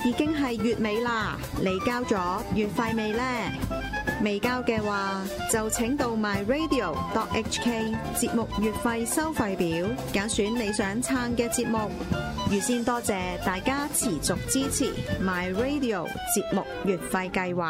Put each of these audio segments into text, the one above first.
已經係月尾啦，你交咗月費未呢？未交嘅話，就請到 myradio.hk 節目月費收費表，揀選你想撐嘅節目。預先多謝大家持續支持 myradio 節目月費計劃。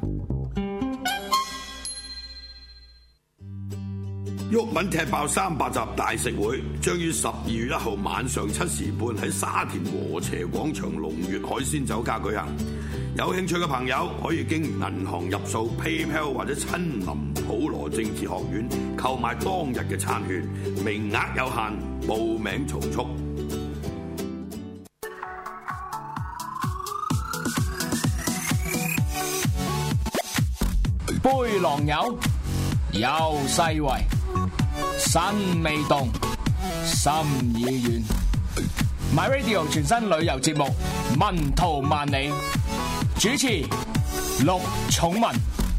毓民踢爆300集大食會，將於12月1號晚上7時半喺沙田禾輋廣場龍悅海鮮酒家舉行。有興趣嘅朋友可以經銀行入數 PayPal 或者親臨普羅政治學院購買當日嘅餐券，名額有限，報名從速。 杯狼友，有世圍，身未動，心已遠。My Radio 全新旅遊節目《文圖萬里》，主持陸寵文。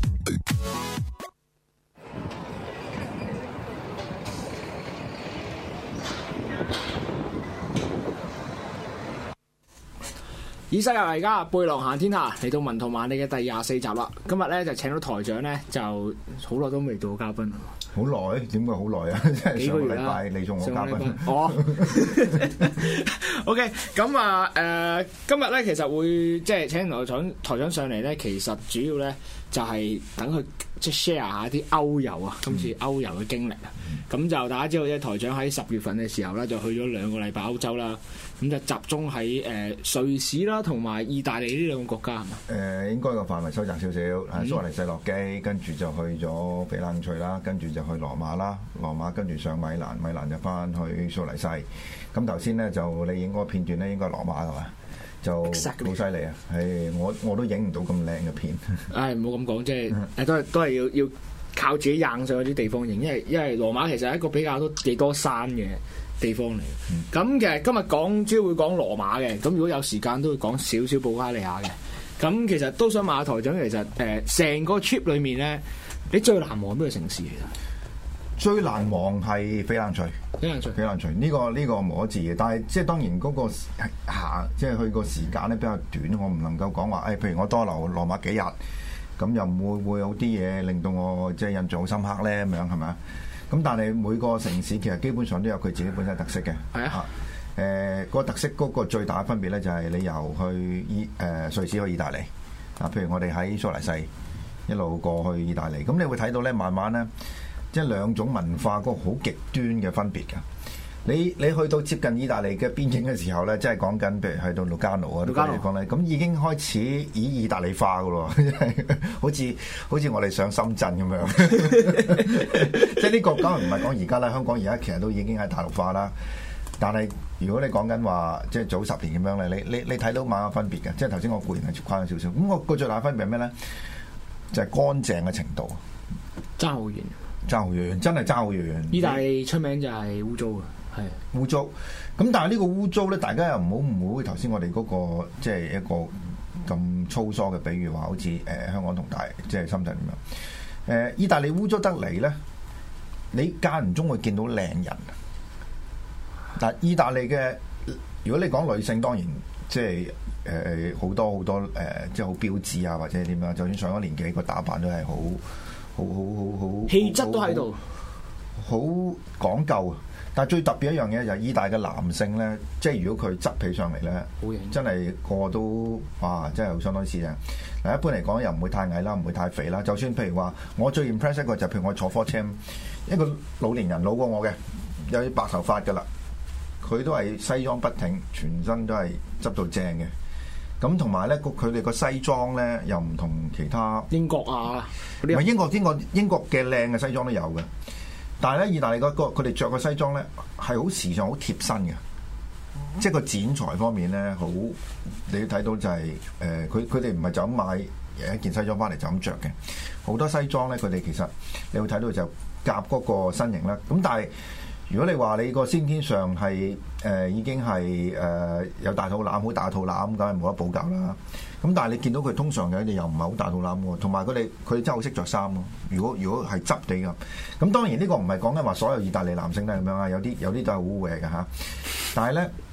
以西遊為家，背囊行天下，嚟到文圖萬里嘅第24集啦。今日咧就請到台長咧，就好耐都未到嘉賓。 好耐？點解好耐啊？即係上個禮拜你做我嘉賓。 哦。OK， 咁啊今日咧其實會即係請台長上嚟咧，其實主要咧就係等佢即係 share 下啲歐遊啊，今次歐遊嘅經歷啊。咁就大家知道咧，台長喺10月份嘅時候咧，就去咗2個禮拜歐洲啦。咁就集中喺瑞士啦，同埋意大利呢2個國家係嘛？ 應該個範圍收窄少少，蘇黎世落機，跟住就去咗翡冷翠啦，跟住就去羅馬啦，羅馬跟住上米蘭，米蘭就翻去蘇黎世。咁頭先咧就你影嗰個片段咧，應該係羅馬係嘛？就好犀利啊！係我都影唔到咁靚嘅片。唉，唔好咁講，即係都係要靠自己硬上嗰啲地方影，因為羅馬其實係一個比較幾多山嘅地方嚟。咁其實今日主要會講羅馬嘅，咁如果有時間都會講少少布加利亞嘅。咁其實都想問下台長，其實成個 trip 裏面咧，你最難忘邊個城市？其實最難忘係翡冷翠。翡冷翠呢個無可置疑嘅，但係即係當然嗰個即係去個時間咧比較短，我唔能夠講話譬如我多留羅馬幾日，咁又會有啲嘢令到我即係印象好深刻咧，咁樣係咪？咁但係每個城市其實基本上都有佢自己本身特色嘅。係啊。個特色嗰個最大嘅分別咧就係你由去瑞士去意大利啊，譬如我哋喺蘇黎世一路過去意大利，咁你會睇到咧慢慢咧，即係兩種文化嗰個好極端嘅分別㗎。你去到接近意大利嘅邊境嘅時候咧，即係講緊譬如去到盧加諾啊啲地方咧，咁已經開始意大利化㗎咯，好似我哋上深圳咁樣。即係呢個當然唔係講而家啦，香港而家其實都已經係大陸化啦。但係如果你講緊話，即係早10年咁樣咧，你睇到某個分別嘅，即係頭先我固然係誇張少少。咁我個最大分別係咩咧？就係乾淨嘅程度， 爭好遠， 真係爭好遠。 意大利出名就係污糟嘅，係污糟。咁但係呢個污糟咧，大家又唔好誤會頭先我哋嗰個即係一個咁粗疏嘅比喻話，好似香港同即係深圳咁樣。意大利污糟得嚟咧，你間唔中會見到靚人。但係意大利嘅，如果你講女性，當然即係好多即係好標緻啊，或者點樣，就算上咗年紀，個打扮都係好氣質都喺度， 好講究。但係最特別一樣嘢就係意大利嘅男性咧，即係如果佢執起上嚟咧，真係個個都哇，真係好相當之靚。嗱，一般嚟講又唔會太矮啦，唔會太肥啦。就算譬如話，我最 impress 一個就譬如我坐火車，一個老年人老過我嘅，有啲白頭髮㗎啦。佢都係西裝筆挺，全身都係執到正嘅。咁同埋咧，佢哋個西裝咧又唔同其他英國啊， 唔係英國嘅靚嘅西裝都有嘅。但係咧，意大利佢哋着個西裝咧係好時尚、好貼身嘅。即係個剪裁方面咧，好你睇到就係佢哋唔係就咁買一件西裝翻嚟就咁着嘅。好多西裝咧，佢哋其實你會睇到就夾嗰個身形啦。咁但係如果你話你個先天上係已經係有大肚腩，好大肚腩，梗係冇得補救啦。咁但係你見到佢通常嘅又唔係好大肚腩喎，同埋佢哋真係好識着衫咯。如果係質地咁當然呢個唔係講緊話所有意大利男性都係咁樣啊，有啲都係好污嘅嚇。但係咧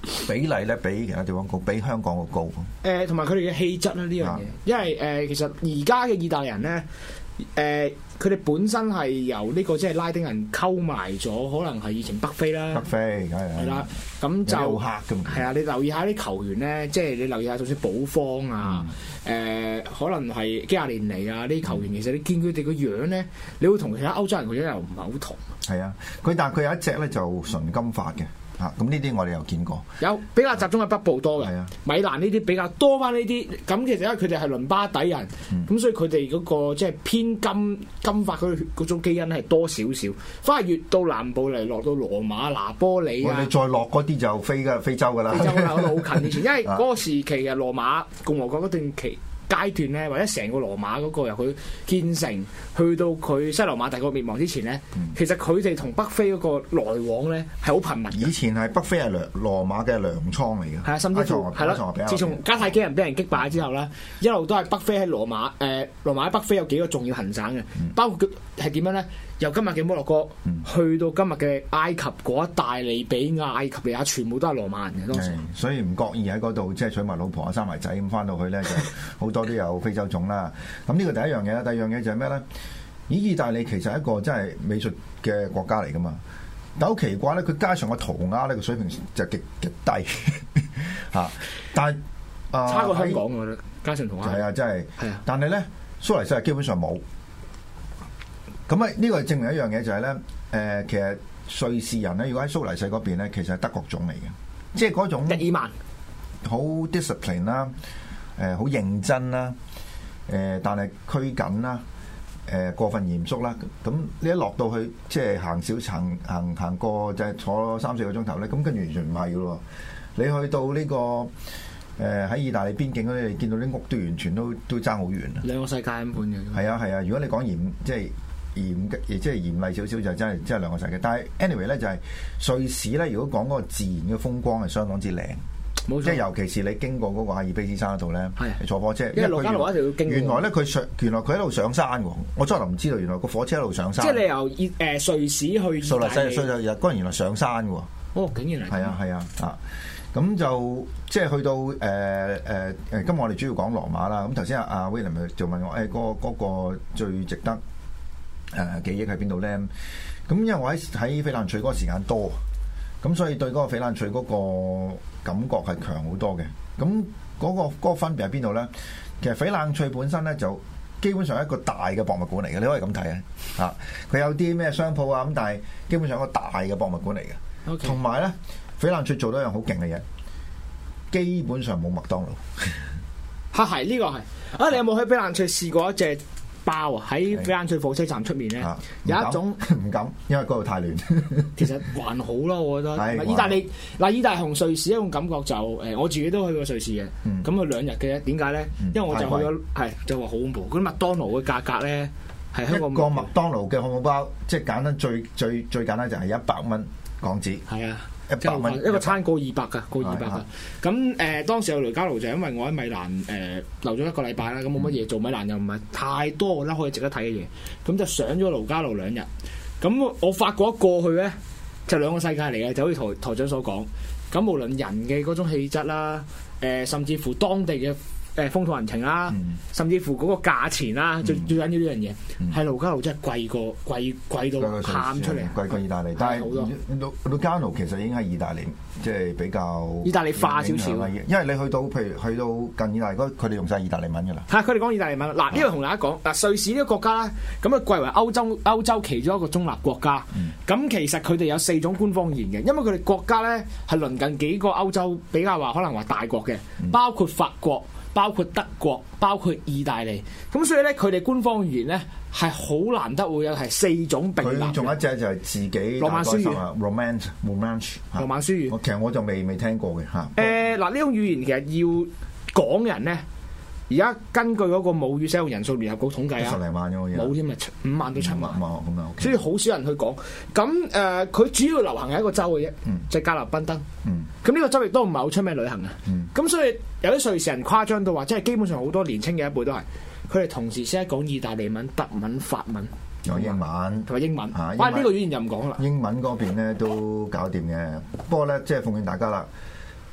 比例咧比其他地方高，比香港個高。 同埋佢哋嘅氣質啦呢樣嘢，因為其實而家嘅意大利人咧，佢哋本身係由呢個即係拉丁人溝埋咗，可能係以前北非啦。 北非係啦， 咁就好黑㗎嘛。 係啊，你留意下啲球員咧，即係你留意下，就算保方啊，可能係基亞連尼啊，呢啲球員其實你見佢哋個樣咧，你會同其他歐洲人個樣又唔係好同。 係啊，但係佢有一隻咧就純金髮嘅。咁呢啲我哋又見過，有比較集中喺北部多嘅，米蘭呢啲比較多翻呢啲。咁其實因為佢哋係倫巴底人，咁所以佢哋嗰個即係偏金髮嗰種基因係多少少。反而越到南部嚟，落到羅馬、拿波里啊， 你再落嗰啲就非洲㗎啦。 非洲嗰度好近以前，因為嗰個時期嘅羅馬共和國嗰段階段咧，或者成個羅馬嗰個由佢建成去到佢西羅馬帝國滅亡之前咧，其實佢哋同北非嗰個來往咧係好頻密。以前係北非係羅馬嘅糧倉嚟嘅， 係啊，甚至乎係咯。自從迦太基人俾人擊敗之後咧，一路都係北非喺羅馬羅馬喺北非有幾個重要行省嘅，包括係點樣咧？由今日嘅摩洛哥去到今日嘅埃及嗰一帶利比亞、埃及利亞，全部都係羅馬人嘅當時。所以唔覺意喺嗰度即係娶埋老婆啊、生埋仔咁翻到去咧，就好多都有非洲種啦。咁呢個第一樣嘢啦，第二樣嘢就係咩咧？意大利其實係一個真係美術嘅國家嚟噶嘛，但好奇怪咧，佢加上個塗鴉咧個水平就極低嚇，但係差過香港我覺得加上塗鴉係啊，真係係啊，但係咧蘇黎世係基本上冇。咁啊，呢個證明一樣嘢就係咧，其實瑞士人咧，如果喺蘇黎世嗰邊咧，其實係德國種嚟嘅，即係嗰種日耳曼， 好 discipline 啦，好認真啦，但係拘謹啦，過分嚴肅啦。咁你一落到去，即係行過就係坐3-4個鐘頭咧，咁跟住完全唔係嘅咯。你去到呢個喺意大利邊境嗰啲，你見到啲屋都完全都爭好遠啊！ 兩個世界咁半嘅。 係啊係啊，如果你講即係嚴厲少少就真係兩個世界。但係 anyway 咧就係瑞士咧，如果講嗰個自然嘅風光係相當之靚，即係尤其是你經過嗰個阿爾卑斯山嗰度咧，你坐火車， 因為盧加路一定要經過。 原來咧佢一路上山喎，我初頭唔知道，原來個火車一路上山。即係你由瑞士去蘇黎世嗰陣原來上山喎。 哦，竟然係。 係啊。咁就即係去到今日我哋主要講羅馬啦。咁頭先阿 William 就問我嗰個最值得記憶喺邊度咧？咁因為我喺翡冷翠嗰個時間多，咁所以對嗰個翡冷翠嗰個感覺係強好多嘅。咁嗰個分別喺邊度咧？其實翡冷翠本身咧就基本上係一個大嘅博物館嚟嘅，你可以咁睇啊！嚇，佢有啲咩商鋪啊咁，但係基本上係一個大嘅博物館嚟嘅。同埋咧，翡冷翠做到一樣好勁嘅嘢，基本上冇麥當勞。 嚇係呢個係啊！你有冇去翡冷翠試過一隻包啊？喺翡冷翠火車站出面咧，有一種唔敢，因為嗰度太亂。 其實還好啦，我覺得。意大利同瑞士一種感覺就我自己都去過瑞士嘅。咁佢2日嘅啫。點解咧？因為我就去咗就話好恐怖。嗰啲麥當勞嘅價格咧係香港一個麥當勞嘅漢堡包，即係簡單最簡單就係100蚊港紙。 係啊。 100蚊一個餐過200㗎，過200㗎。咁當時有雷加盧就因為我喺米蘭留咗1個禮拜啦，咁冇乜嘢做，米蘭又唔係太多我覺得可以值得睇嘅嘢，咁就上咗盧加盧2日。咁我發覺一過去咧就兩個世界嚟嘅，就好似台長所講。咁無論人嘅嗰種氣質啦，甚至乎當地嘅風土人情啦，甚至乎嗰個價錢啦，最緊要呢樣嘢係盧加盧真係貴到喊出嚟， 貴過意大利。但係盧加盧其實已經係意大利，即係比較意大利化少少。 因為你去到譬如去到近意大利，佢哋用晒意大利文㗎啦。 係佢哋講意大利文。嗱，呢個同大家講嗱，瑞士呢個國家咧，咁啊貴為歐洲其中一個中立國家。咁其實佢哋有4種官方語言嘅，因為佢哋國家咧係鄰近幾個歐洲比較可能話大國嘅，包括法國、包括德國、包括意大利，咁所以咧佢哋官方語言咧係好難得會有係4種並立。佢仲有一隻就係自己羅曼書語 ，Romance。 羅曼書語， 其實我就未聽過嘅嚇。 嗱呢種語言其實要講人咧，而家根據嗰個母語使用人數聯合國統計啊，10零萬嘅冇添啊，5萬到7萬。所以好少人去講。咁佢主要流行係一個州嘅啫，就係格勒賓登。咁呢個州亦都唔係好出名旅行啊。咁所以有啲瑞士人誇張到話，即係基本上好多年青嘅一輩都係，佢哋同時識得講意大利文、德文、法文， 有英文同埋英文。哇！呢個語言就唔講啦。 英文嗰邊咧都搞掂嘅，不過咧即係奉勸大家啦，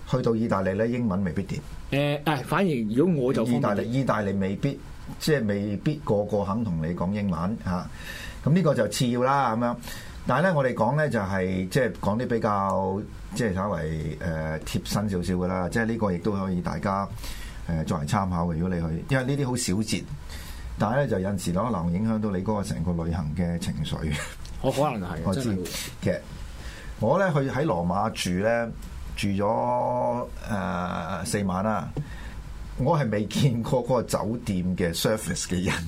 去到意大利咧，英文未必掂。 反而如果我就意大利未必即係未必個個肯同你講英文嚇。咁呢個就次要啦咁樣。但係咧，我哋講咧就係即係講啲比較即係稍為貼身少少嘅啦。即係呢個亦都可以大家作為參考嘅。如果你去，因為呢啲好小節，但係咧就有陣時可能影響到你嗰個成個旅行嘅情緒。 我可能係我知，其實我咧去喺羅馬住咗4晚啦。我係未見過嗰個酒店嘅 service 嘅人。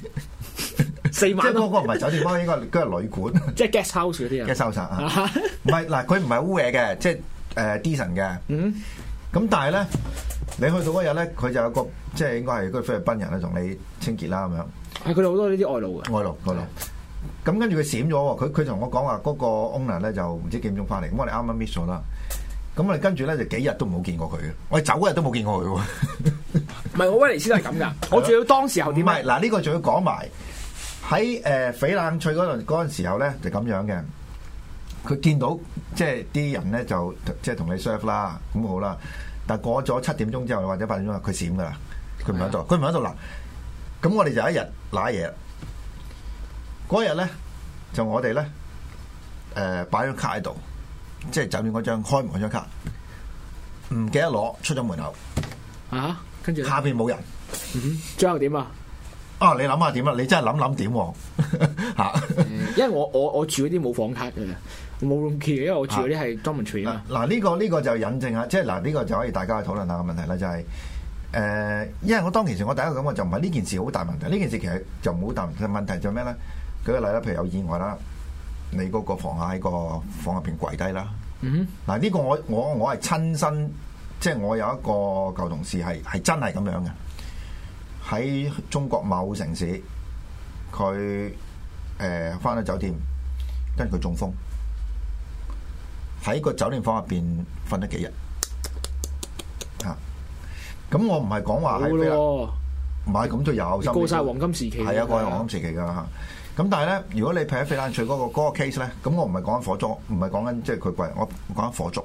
4晚， 即係嗰個唔係酒店，應該係旅館， 即係 guest house 嗰啲啊。 guest house 啊，唔係嗱，佢唔係污嘢嘅，即係decent 嘅。咁但係咧，你去到嗰日咧，佢就有個即係應該係嗰個菲律賓人咧同你清潔啦咁樣。 係佢哋好多呢啲外勞嘅。外勞。 咁跟住佢閃咗喎，佢同我講話嗰個 owner 咧就唔知幾點鐘翻嚟，咁我哋啱啱 miss 咗啦。咁我哋跟住咧就幾日都冇見過佢嘅，我哋走嗰日都冇見過佢喎。 唔係，我威尼斯都係咁㗎。我仲要當時候點？唔係嗱，呢個仲要講埋喺翡冷翠嗰陣時候咧就咁樣嘅。佢見到即係啲人咧就即係同你 serve 啦，咁好啦。但係過咗7點鐘之後或者8點鐘，佢閃㗎啦，佢唔喺度，佢唔喺度嗱。咁我哋就一日揦嘢。嗰日咧就我哋咧擺張卡喺度。即係酒店嗰張開門嗰張卡，唔記得攞，出咗門口啊！跟住下邊冇人， 最後點啊？ 你諗下點啦？你真係諗點嚇？ 因為我住嗰啲冇房卡嘅，冇 room key 嘅，因為我住嗰啲係 dormitory 啊。 嗱呢個就引證下，即係嗱呢個就可以大家去討論下個問題啦，就係因為我當其時我第一個感覺就唔係呢件事好大問題，呢件事其實就冇好大問題，問題就咩咧？舉個例啦，譬如有意外啦。你嗰個房客喺個房入邊跪低啦。嗱呢個我係親身，即係我有一個舊同事係真係咁樣嘅。喺中國某城市，佢返到酒店，跟住佢中風，喺個酒店房入邊瞓咗幾日。咁我唔係講話係唔係咁就有過晒黃金時期， 係啊，過晒黃金時期㗎嚇。咁但係咧，如果你譬如翡冷翠嗰個 case 咧，咁我唔係講緊火燭，唔係講緊即係佢貴，我講緊火燭。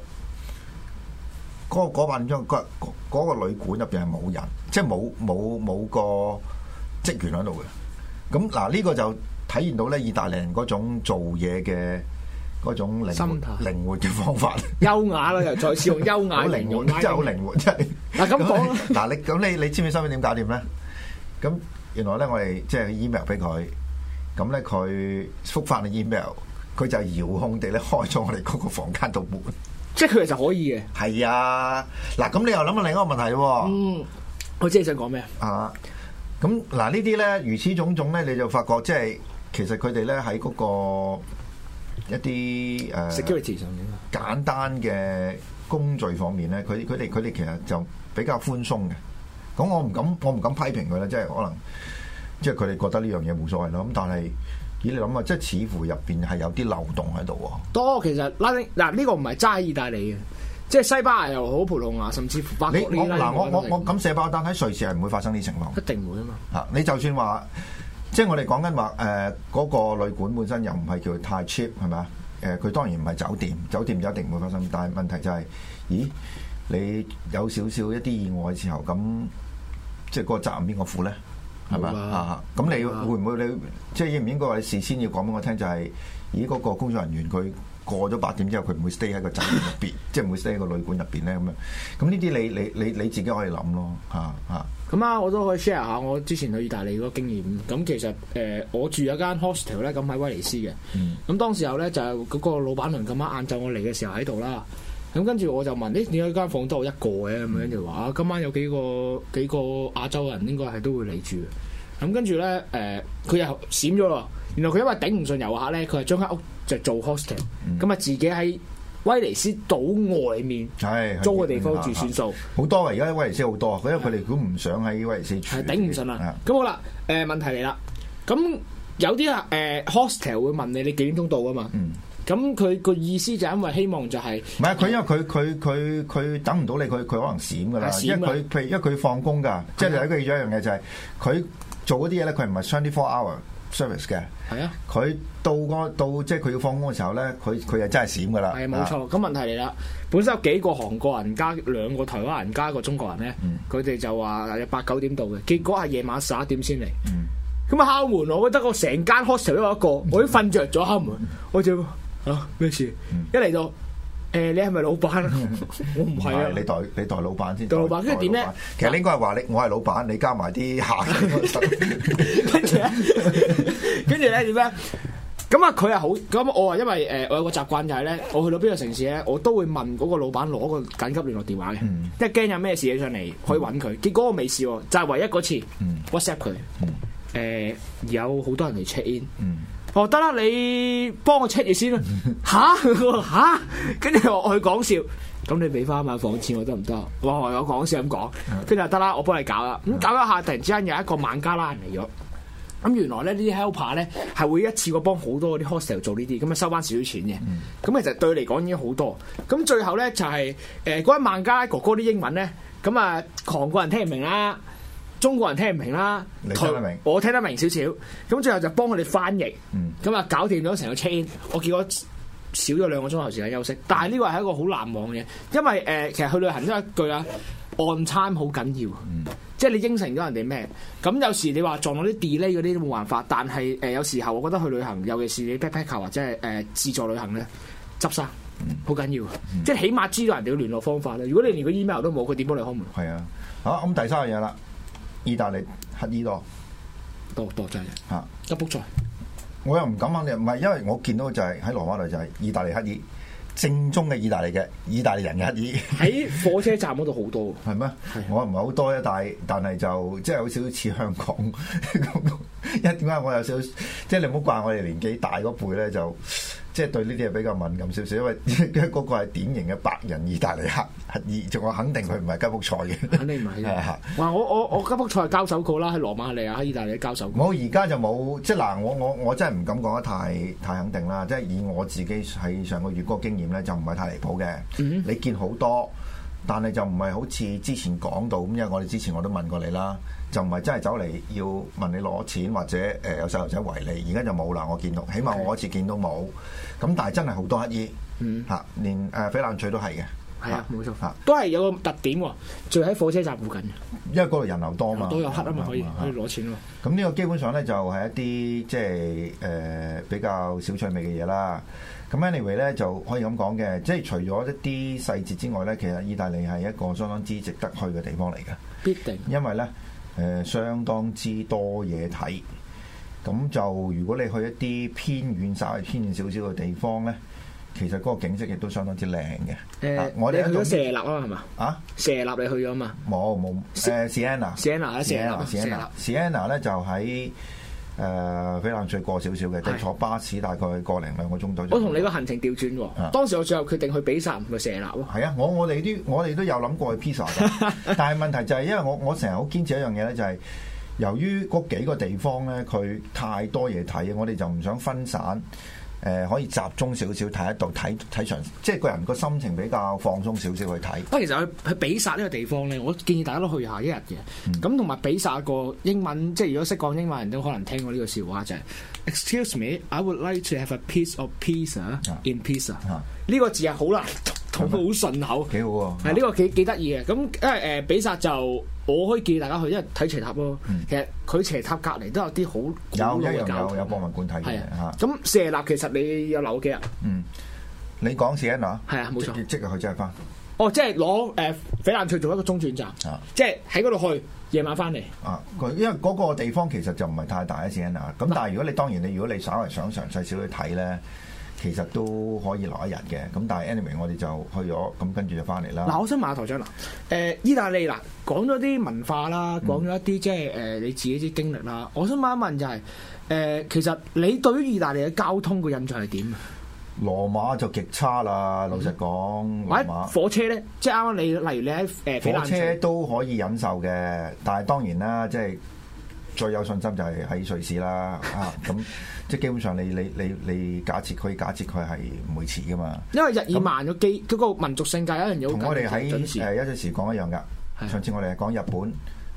嗰晚嗰個旅館入邊係冇人，即係冇個職員喺度嘅。咁嗱呢個就體現到咧意大利人嗰種做嘢嘅嗰種靈活嘅方法， 優雅啦，又再次用優雅靈活，真係好靈活，真係。 嗱咁講， 嗱你知唔知收尾點搞掂咧？咁原來咧我哋即係 email 俾佢。咁咧佢覆返你 email，佢就遙控地咧開咗我哋嗰個房間度門， 即係佢其實可以嘅。 係啊，嗱咁你又諗下另一個問題喎。 我知你想講咩啊？咁嗱呢啲咧如此種種咧，你就發覺即係其實佢哋咧喺嗰個一啲 security 上面簡單嘅工序方面咧，佢哋其實就比較寬鬆嘅。咁我唔敢批評佢啦，即係可能。即係佢哋覺得呢樣嘢冇所謂咯，咁但係你諗下，即係似乎入邊係有啲漏洞喺度喎。 多其實拉丁嗱呢個唔係齋意大利嘅，即係西班牙又好，葡萄牙甚至乎法國呢啲。 我咁寫包單喺瑞士係唔會發生呢啲情況。 一定會啊嘛。 嚇！你就算話，即係我哋講緊話嗰個旅館本身又唔係叫太 cheap 係咪啊？佢當然唔係酒店，酒店就一定唔會發生。但係問題就係，咦？你有少少一啲意外嘅時候，咁即係嗰個責任邊個負咧？係咪啊？咁你會唔會你即係應唔應該話你事先要講俾我聽？就係咦嗰個工作人員佢過咗8點之後，佢唔會 stay 喺個酒店入邊，即係唔會 stay 喺個旅館入邊咧咁樣。咁呢啲你自己可以諗咯嚇。 咁啊，我都可以 share 下我之前去意大利嗰個經驗。咁其實我住有間 hostel 咧，咁喺威尼斯嘅。咁當時候咧就嗰個老闆娘咁啱晏晝我嚟嘅時候喺度啦。咁跟住我就問：點解間房得我一個嘅？咁樣跟住話啊，今晚有幾個亞洲人應該係都會嚟住。咁跟住咧，佢又閃咗咯。原來佢因為頂唔順遊客咧，佢係將間屋就做 hostel，咁啊自己喺威尼斯島外面租個地方住算數。好多啊！而家威尼斯好多，因為佢哋都唔想喺威尼斯住。 係頂唔順啦。咁好啦，問題嚟啦。咁有啲hostel 會問你幾點鐘到㗎嘛？咁佢個意思就係因為希望就係唔係佢因為佢等唔到你，佢可能閃㗎啦。因為佢放工㗎，即係你記住一樣嘢就係佢做嗰啲嘢咧，佢唔係24 hour， service 嘅。 係啊， 佢到即係佢要放工嘅時候咧，佢就真係閃噶啦。 係冇錯。咁問題嚟啦，本身有幾個韓國人加2個台灣人加一個中國人咧，佢哋就話有8、9點到嘅，結果係夜晚11點先嚟。咁啊敲門，我覺得我成間 hostel 都有一個，我已經瞓着咗敲門，我就咩事？一嚟到。你係咪老闆？我唔係啊！ 你代老闆先。 代老闆，跟住點咧？ 其實你應該係話我係老闆，你加埋啲客。 跟住咧點咧？咁啊，佢係好咁。我話因為我有個習慣就係咧，我去到邊個城市咧，我都會問嗰個老闆攞個緊急聯絡電話嘅，即係驚有咩事起上嚟可以揾佢。結果我未試喎，就係唯一嗰次 WhatsApp 佢。有好多人嚟 check in。得啦，你幫我 check 住先啦。吓？跟住我去講笑，咁你俾翻晚房錢我得唔得？我講笑咁講，跟住就得啦，我幫你搞啦。咁搞一下，突然之間有一個孟加拉人嚟咗。咁原來咧呢啲 helper 咧係會一次過幫好多嗰啲 hostel 做呢啲，咁啊收翻少少錢嘅。咁其實對你嚟講已經好多。咁最後咧就係嗰位孟加拉哥哥啲英文咧，咁啊韓國人聽唔明啦。中國人聽唔明啦， 你聽得明， 我聽得明少少，咁最後就幫佢哋翻譯，咁啊搞掂咗成個 check in，我結果少咗2個鐘頭時間休息，但係呢個係一個好難忘嘅，因為其實去旅行都係一句啊，on time 好緊要，即係你應承咗人哋咩，咁有時你話撞到啲 delay 嗰啲都冇辦法，但係有時候我覺得去旅行，尤其是你 backpacker 或者係自助旅行咧，執生好緊要，即係起碼知道人哋嘅聯絡方法咧。如果你連個 email 都冇，佢點幫你開門？ 係啊，好，咁第三樣嘢啦。意大利乞兒多真係嚇吉卜賽， 我又唔敢肯定，唔係因為我見到就係喺羅馬度就係意大利乞兒，正宗嘅意大利人嘅乞兒喺火車站嗰度好多， 係咩？我唔係好多啫，但係就即係有少少似香港，因為點解我有少少即係你唔好怪我哋年紀大嗰輩咧就。即係對呢啲係比較敏感少少，因為嗰個係典型嘅白人意大利乞兒，仲我肯定佢唔係吉卜賽嘅， 肯定唔係。哇！我吉卜賽交手過啦，喺羅馬尼亞喺意大利交手過。 我而家就冇，即係嗱，我真係唔敢講得太肯定啦。即係以我自己喺上個月嗰個經驗咧，就唔係太離譜嘅。你見好多，但係就唔係好似之前講到咁，因為我哋之前我都問過你啦。就唔係真係走嚟要問你攞錢或者有細路仔圍你，而家就冇啦。我見到，起碼我嗰次見到冇。咁但係真係好多乞兒，連翡冷翠都係嘅。 係啊，冇錯，都係有個特點喎，住喺火車站附近。 因為嗰度人流多嘛， 都有乞啊嘛，可以攞錢咯。 咁呢個基本上咧就係一啲即係比較小趣味嘅嘢啦。咁 anyway 咧就可以咁講嘅，即係除咗一啲細節之外咧，其實意大利係一個相當之值得去嘅地方嚟嘅。 必定， 因為咧。相當之多嘢睇，咁就如果你去一啲偏遠稍微偏遠少少嘅地方咧，其實嗰個景色亦都相當之靚嘅。 我哋去咗舍納啊，係嘛？舍納你去咗嘛？ 冇Siena 咧就喺翡冷翠過少少嘅，即係坐巴士大概1-2個鐘左右。 我同你個行程調轉喎，當時我最後決定去比薩唔去舍納喎。 係啊，我哋都有諗過去 Pisa 嘅，但係問題就係因為我成日好堅持一樣嘢咧，就係由於嗰幾個地方咧，佢太多嘢睇，我哋就唔想分散。可以集中少少睇一度睇場，即係個人個心情比較放鬆少少去睇。 其實去比薩呢個地方咧，我建議大家都去下一日嘅。咁同埋比薩個英文，即係如果識講英文人都可能聽過呢個笑話就係 Excuse me, I would like to have a piece of pizza in pizza。呢個字係好難同佢好順口， 幾好喎。 係呢個幾得意嘅。咁因為比薩就我可以建議大家去，因為睇斜塔咯。其實佢斜塔隔離都有啲好有博物館睇嘅嚇。 咁舍納其實你有留幾日？ 你講Siena 係啊，冇錯， 即日去即日翻。 即係攞翡冷翠做一個中轉站，即係喺嗰度去，夜晚翻嚟。 因為嗰個地方其實就唔係太大嘅Siena，咁但係如果你稍為想詳細少去睇咧。其實都可以留一日嘅，咁但係 anyway 我哋就去咗，咁跟住就翻嚟啦。 我想問下台長啦，意大利講咗啲文化啦，講咗一啲即係你自己啲經歷啦，我想問一問就係其實你對於意大利嘅交通個印象係點啊？ 羅馬就極差啦，老實講。 羅馬火車咧，即係啱啱你例如你喺火車都可以忍受嘅，但係當然啦，即係最有信心就係喺瑞士啦，咁。即係基本上你可以假設佢係唔會遲噶嘛，因為日耳曼個嗰個民族性格有一樣嘢好緊要，同我哋喺一陣時講一樣㗎。上次我哋係講日本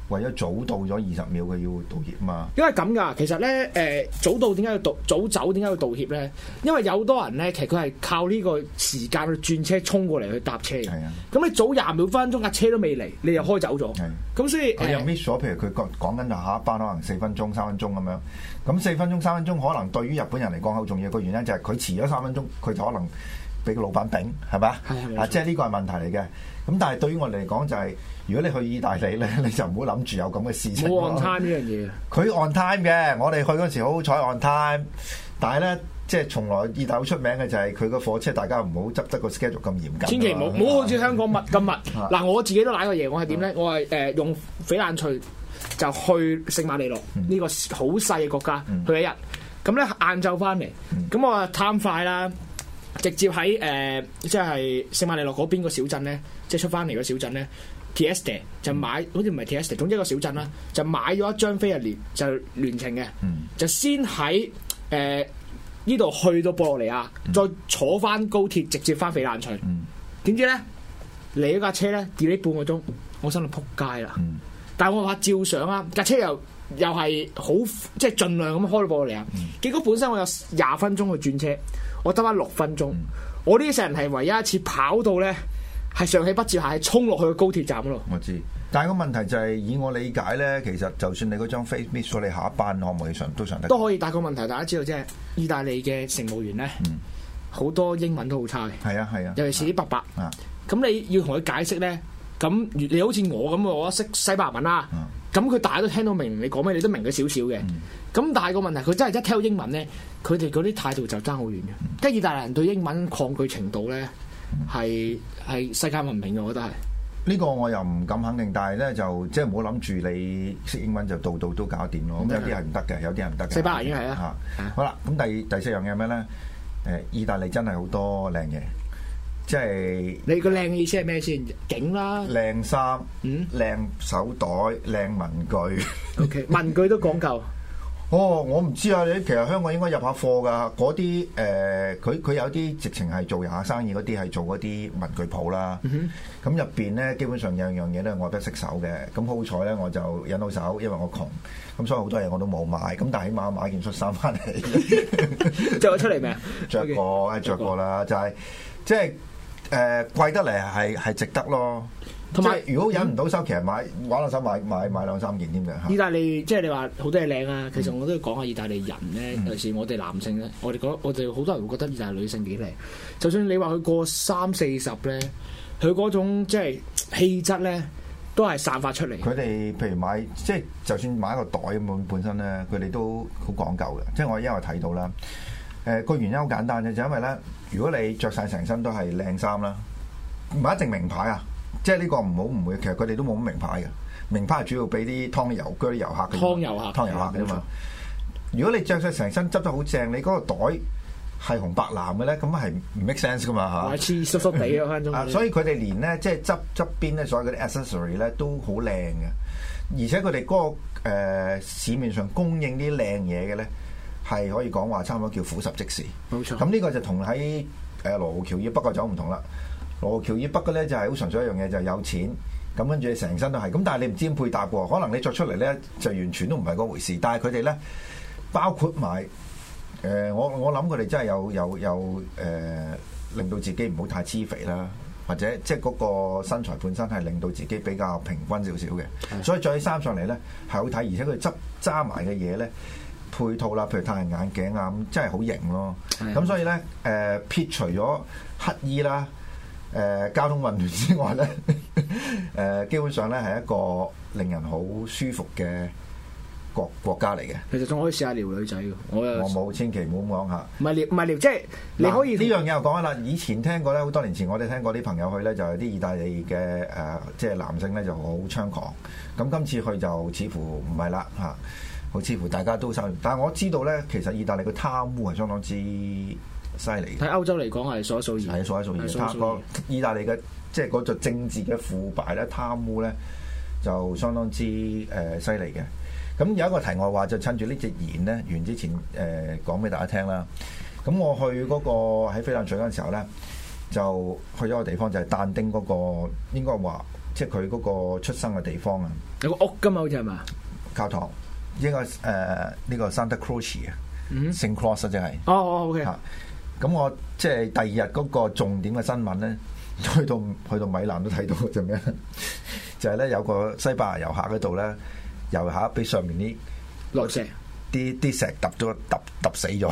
為咗早到咗20秒，佢要道歉嘛？ 因為咁㗎，其實咧早到點解要早走點解要道歉咧？因為有好多人咧，其實佢係靠呢個時間去轉車衝過嚟去搭車嘅。係啊，咁你早20秒分鐘架車都未嚟，你又開走咗。係，咁所以佢又 miss 咗。譬如佢講緊就下一班可能4分鐘、3分鐘咁樣。咁4分鐘、3分鐘可能對於日本人嚟講好重要，個原因就係佢遲咗3分鐘，佢就可能俾個老闆頂，係咪？啊，即係呢個係問題嚟嘅。咁但係對於我哋嚟講就係，如果你去意大利咧，你就唔好諗住有咁嘅事情。 冇 on time 呢樣嘢。 佢 on time 嘅，我哋去嗰時好彩 on time， 但係咧即係從來意大利出名嘅就係佢個火車，大家唔好執得個 schedule 咁嚴謹。 千祈唔好好似香港密咁密。嗱，我自己都瀨過嘢，我係點咧？我係用翡冷翠就去聖馬力諾呢個好細嘅國家去一日，咁咧晏晝翻嚟，咁我貪快啦。直接喺即係聖馬力諾嗰邊個小鎮咧，即係出翻嚟個小鎮咧 Trieste 就買，好似唔係 Trieste，總之一個小鎮啦，就買咗一張飛日就聯程嘅，就先喺呢度去到博洛尼亞，再坐翻高鐵直接翻翡冷翠。點知咧嚟嗰架車咧 delay 半個鐘，我心諗撲街啦！但係我話照上啊，架車又係好即係盡量咁開到博洛尼亞。結果本身我有20分鐘去轉車。我得翻6分鐘，我呢世人係唯一一次跑到咧，係上氣不接下氣衝落去個高鐵站嗰度。 我知，但係個問題就係，以我理解咧，其實就算你嗰張飛 miss 咗，你下一班可唔可以上都上得？ 都可以，但係個問題大家知道即係意大利嘅乘務員咧，好多英文都好差嘅。係啊係啊，尤其是啲伯伯。咁你要同佢解釋咧，咁你好似我咁，我識西班牙文啦。咁佢大家都聽到明你講咩，你都明咗少少嘅。咁但係個問題，佢真係一聽到英文咧，佢哋嗰啲態度就爭好遠嘅。即係意大利人對英文抗拒程度咧，係世界聞名嘅，我覺得係。呢個我又唔敢肯定，但係咧就即係唔好諗住你識英文就度都搞掂咯。咁有啲係唔得嘅，有啲係唔得嘅。 西班牙已經係啦。 好啦，咁第4樣嘢係咩咧？意大利真係好多靚嘢。即係你個靚意思係咩先？景啦，靚衫，靚手袋，靚文具。 OK， 文具都講究。 我唔知啊！你其實香港應該入下貨㗎。嗰啲佢有啲直情係做下生意嗰啲係做嗰啲文具鋪啦。咁入邊咧，基本上有樣嘢咧，我都識手嘅。咁好彩咧，我就引到手，因為我窮。咁所以好多嘢我都冇買。咁但係起碼買件恤衫翻嚟，着咗出嚟未啊？着過啦，就係即係。貴得嚟係值得咯，同埋如果忍唔到手，其實玩落手買2-3件添嘅。 意大利即係你話好多嘢靚啊，其實我都要講下意大利人咧，尤其是我哋男性咧，我哋好多人會覺得意大利女性幾靚，就算你話佢過30-40咧，佢嗰種即係氣質咧，都係散發出嚟。佢哋譬如買即係就算買一個袋咁本身咧，佢哋都好講究嘅。即係我因為睇到啦。個原因好簡單嘅，就因為咧，如果你着晒成身都係靚衫啦，唔係一定名牌啊，即係呢個唔好誤會，其實佢哋都冇乜名牌嘅，名牌係主要俾啲湯油嗰啲遊客嘅，湯遊客嘅嘛。如果你着晒成身執得好正，你嗰個袋係紅白藍嘅咧，咁係唔 make sense 噶嘛嚇，似濕濕地嗰分鐘。所以佢哋連咧即係側邊咧所有嗰啲 accessory 咧都好靚嘅，而且佢哋嗰個市面上供應啲靚嘢嘅咧。係可以講話差唔多叫俯拾即是，冇錯。咁呢個就同喺羅湖橋以北個就唔同啦。羅湖橋以北嘅咧就係好純粹一樣嘢，就係有錢。咁跟住你成身都係，咁但係你唔知點配搭喎。可能你着出嚟咧就完全都唔係嗰回事。但係佢哋咧包括埋我諗佢哋真係有令到自己唔好太黐肥啦，或者即係嗰個身材本身係令到自己比較平均少少嘅。所以着起衫上嚟咧係好睇，而且佢揸埋嘅嘢咧。配套啦，譬如太陽眼鏡啊，咁真係好型咯。咁所以咧，撇除咗乞衣啦、交通混亂之外咧，基本上咧係一個令人好舒服嘅國家嚟嘅。其實仲可以試下撩女仔嘅，我冇，千祈唔好講下。唔係撩，即係你可以呢樣嘢又講啦。以前聽過咧，好多年前我哋聽過啲朋友去咧，就係啲意大利嘅即係男性咧就好猖狂。咁今次去就似乎唔係啦嚇。好似乎大家都收，但係我知道咧，其實意大利嘅貪污係相當之犀利。喺歐洲嚟講係數一數二，係數一數二。意大利嘅即係嗰個政治嘅腐敗咧、貪污咧，就相當之犀利嘅。咁有一個題外話，就趁住呢隻言咧完之前講俾大家聽啦。咁我去嗰個喺翡冷翠嗰陣時候咧，就去咗個地方就係但丁嗰個應該話即係佢嗰個出生嘅地方啊。 有個屋㗎嘛，好似係嘛？ 教堂應該呢個 Santa Croce 啊，Saint Croce 即係。 哦 ，OK。 咁我即係第二日嗰個重點嘅新聞咧，去到米蘭都睇到就咩？就係咧有個西班牙遊客嗰度咧，遊客俾上面啲落石， 啲石揼死咗。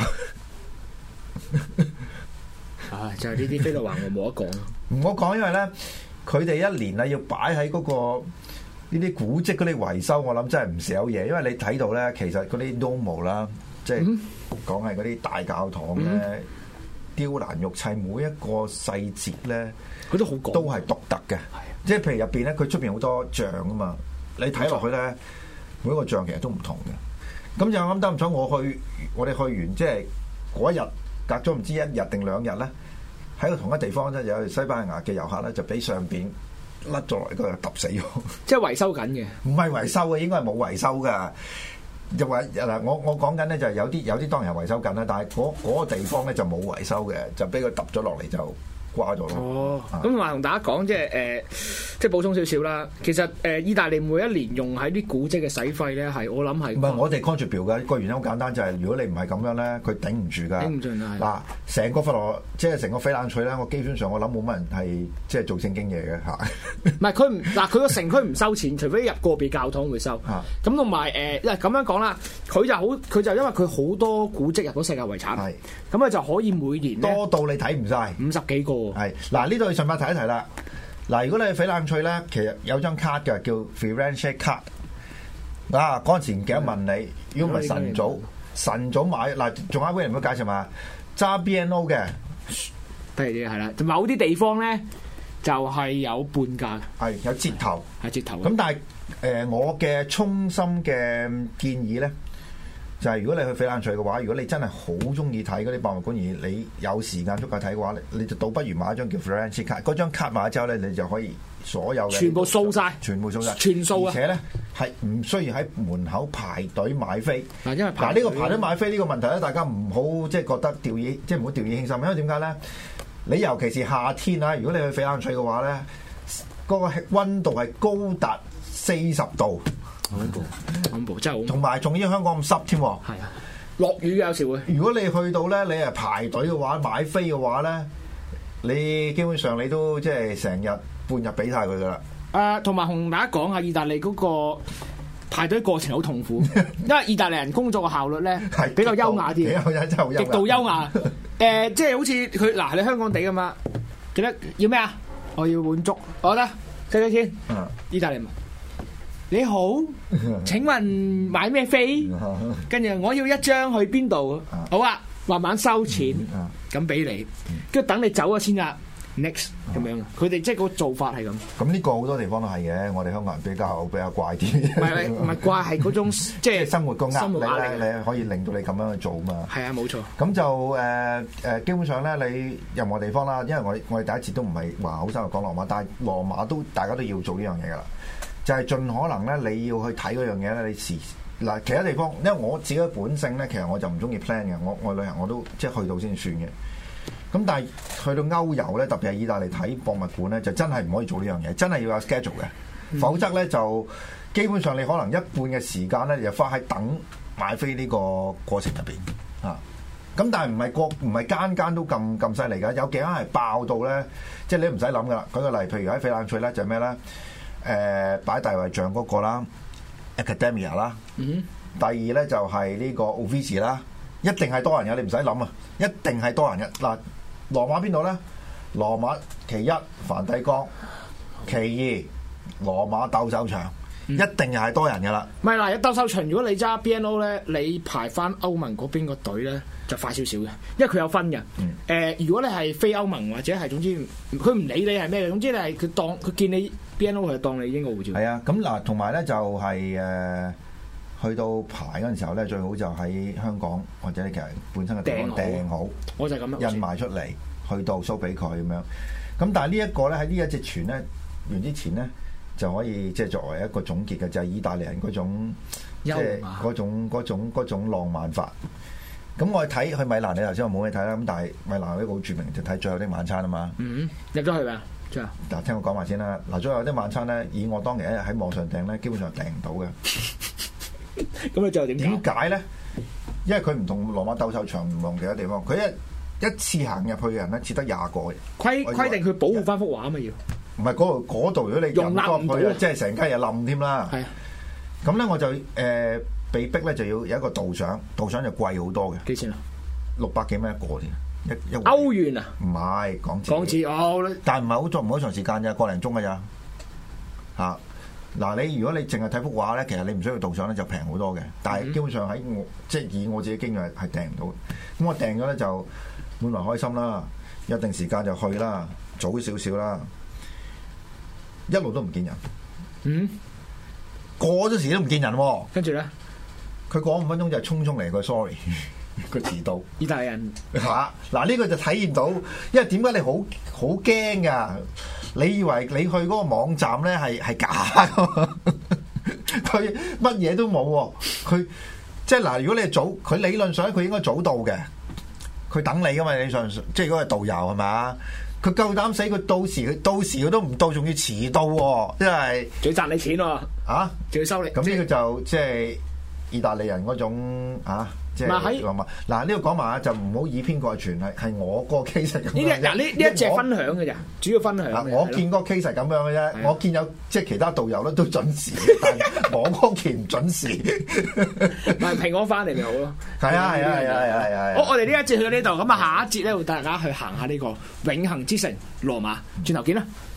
就係呢啲飛到橫我冇得講。 唔好講，因為咧佢哋一年啊要擺喺嗰個呢啲古蹟嗰啲維修，我諗真係唔少嘢。因為你睇到咧，其實嗰啲 Duomo 啦，即係講係嗰啲大教堂咧，雕欄玉砌，每一個細節咧， 佢都好講， 都係獨特嘅。即係譬如入邊咧，佢出邊好多像啊嘛，你睇落去咧，每一個像其實都唔同嘅。咁就啱得唔錯，我哋去完即係嗰一日，隔咗唔知一日定2日咧，喺個同一地方咧，有西班牙嘅遊客咧，就俾上邊甩咗落嚟，嗰度揼死咗。即係維修緊嘅， 唔係維修嘅，應該係冇維修噶。就話嗱，我講緊咧就係有啲當然係維修緊啦，但係嗰個地方咧就冇維修嘅，就俾佢揼咗落嚟就掛咗咯。 哦，咁話同大家講即係補充少少啦。其實意大利每一年用喺啲古蹟嘅使費咧，係我諗係唔係我哋 contribute 嘅個原因好簡單，就係如果你唔係咁樣咧，佢頂唔住㗎。頂唔住嗱，成個佛羅即係成個翡冷翠咧，我基本上我諗冇乜人係即係做正經嘢嘅嚇。 唔係佢個城區唔收錢，除非入個別教堂會收。咁同埋因為咁樣講啦，佢就因為佢好多古蹟入到世界遺產，咁佢就可以每年多到你睇唔晒 50幾個。係嗱，呢度要順便提一提啦。嗱，如果你去翡冷翠咧，其實有張卡嘅叫 Firenze Card。嗰陣時唔記得問你，如果唔係晨早買嗱，仲有一位人會介紹嘛？揸 BNO 嘅， 譬如係啦，某啲地方咧就係有半價， 係有折頭， 係折頭。 咁但係我嘅衷心嘅建議咧，就係如果你去翡冷翠嘅話，如果你真係好中意睇嗰啲博物館，而你有時間足夠睇嘅話，你就倒不如買一張叫 Firenze Card。嗰張卡買咗之後咧，你就可以所有嘅全部掃晒， 全數啊！ 而且咧係唔需要喺門口排隊買飛。 嗱，因為呢個排隊買飛呢個問題咧，大家唔好即係覺得即係唔好掉以輕心。因為點解咧？你尤其是夏天啊，如果你去翡冷翠嘅話咧，嗰個溫度係高達40度。 恐怖，真係同埋仲要香港咁濕添。係啊，落雨有時會。 如果你去到咧，你係排隊嘅話，買飛嘅話咧，你基本上你都即係成日半日俾晒佢噶啦。 同埋同大家講下，意大利嗰個排隊過程好痛苦，因為意大利人工作嘅效率咧係比較優雅啲，極度優雅。即係好似佢嗱，你香港地噶嘛，記得要咩啊？我要碗粥，我得計幾錢？意大利文。你好，請問買咩飛？跟住我要一張去邊度？好啊，慢慢收錢，咁俾你，跟住等你走咗先啊。Next 咁樣，佢哋即係個做法係咁。 咁呢個好多地方都係嘅，我哋香港人比較怪啲。 唔係怪，係嗰種即係生活個壓力咧，你可以令到你咁樣去做嘛。 係啊，冇錯。 咁就基本上咧，你任何地方啦，因為我哋第一次都唔係話好深入講羅馬，但係羅馬都大家都要做呢樣嘢噶啦。就係盡可能咧，你要去睇嗰樣嘢咧，你嗱其他地方，因為我自己嘅本性咧，其實我就唔中意 plan 嘅，我旅行我都即係去到先算嘅。咁但係去到歐遊咧，特別係意大利睇博物館咧，就真係唔可以做呢樣嘢，真係要有 schedule 嘅，否則咧就基本上你可能一半嘅時間咧，就花喺等買飛呢個過程入邊啊。咁但係唔係間間都咁犀利㗎，有幾間係爆到咧，即係你唔使諗㗎啦。舉個例，譬如喺翡冷翠咧，就係咩咧？擺大衛像嗰個啦 ，Accademia 啦，第二咧就係呢個 Uffizi 啦，一定係多人嘅，你唔使諗啊，一定係多人嘅。嗱，羅馬邊度咧？羅馬其一梵蒂岡，其二羅馬鬥獸場，一定又係多人嘅啦。 唔係嗱，鬥獸場如果你揸 BNO 咧，你排翻歐盟嗰邊個隊咧就快少少嘅，因為佢有分嘅。如果你係非歐盟或者係總之佢唔理你係咩嘅，總之你係佢見你 BNO 佢就當你英國護照。 係啊，咁嗱，同埋咧就係去到排嗰陣時候咧，最好就喺香港或者你其實本身嘅地方訂好， 我就係咁樣印埋出嚟，去到收俾佢咁樣。咁但係呢一個咧喺呢一隻船咧完之前咧就可以即係作為一個總結嘅，就係意大利人嗰種即係嗰種浪漫法。咁我睇去米蘭，你頭先話冇嘢睇啦。咁但係米蘭呢個好著名，就睇最後的晚餐啊嘛。 入咗去未？ 真係。 嗱，聽我講埋先啦。嗱，最後有啲晚餐咧，以我當年喺網上訂咧，基本上訂唔到嘅。 咁你最後點解咧？因為佢唔同羅馬鬥獸場唔同其他地方，佢一次行入去嘅人咧，只得20個嘅。 規定佢保護翻幅畫啊嘛要。 唔係嗰度，如果你入多去，即係成間嘢冧添啦。係。咁咧我就被逼咧就要有一個導賞，導賞就貴好多嘅。幾錢啊？600幾蚊一個添。一歐元啊？ 唔係港紙。 港紙哦， 但係唔係好長時間咋，個零鐘㗎咋嚇。嗱，你如果你淨係睇幅畫咧，其實你唔需要導賞咧，就平好多嘅。但係基本上喺我即係以我自己經驗係訂唔到。咁我訂咗咧就滿懷開心啦，有定時間就去啦，早少少啦，一路都唔見人。 嗯， 過咗時都唔見人喎。跟住咧， 佢過5分鐘就匆匆嚟個 sorry。佢遲到， 意大利人嚇嗱，呢個就體現到，因為點解你好驚噶？你以為你去嗰個網站咧係假噶？佢乜嘢都冇喎，佢即係嗱，如果你係早，佢理論上佢應該早到嘅，佢等你噶嘛？理論上即係如果係導遊係嘛？佢夠膽死，佢到時佢都唔到，仲要遲到喎，即係仲要賺你錢喎，啊，仲要收你。 咁呢個就即係意大利人嗰種啊。即係嗱，呢個講埋就唔好以偏概全，係我個 case 咁樣。 呢一隻分享嘅咋，主要分享。 我見嗰個 case 係咁樣嘅啫，我見有即係其他導遊咧都準時，但係我嗰期唔準時。 咪平安翻嚟咪好咯。 係啊。 好，我哋呢一節去到呢度，咁啊下一節咧，會帶大家去行下呢個永恆之城羅馬，轉頭見啦。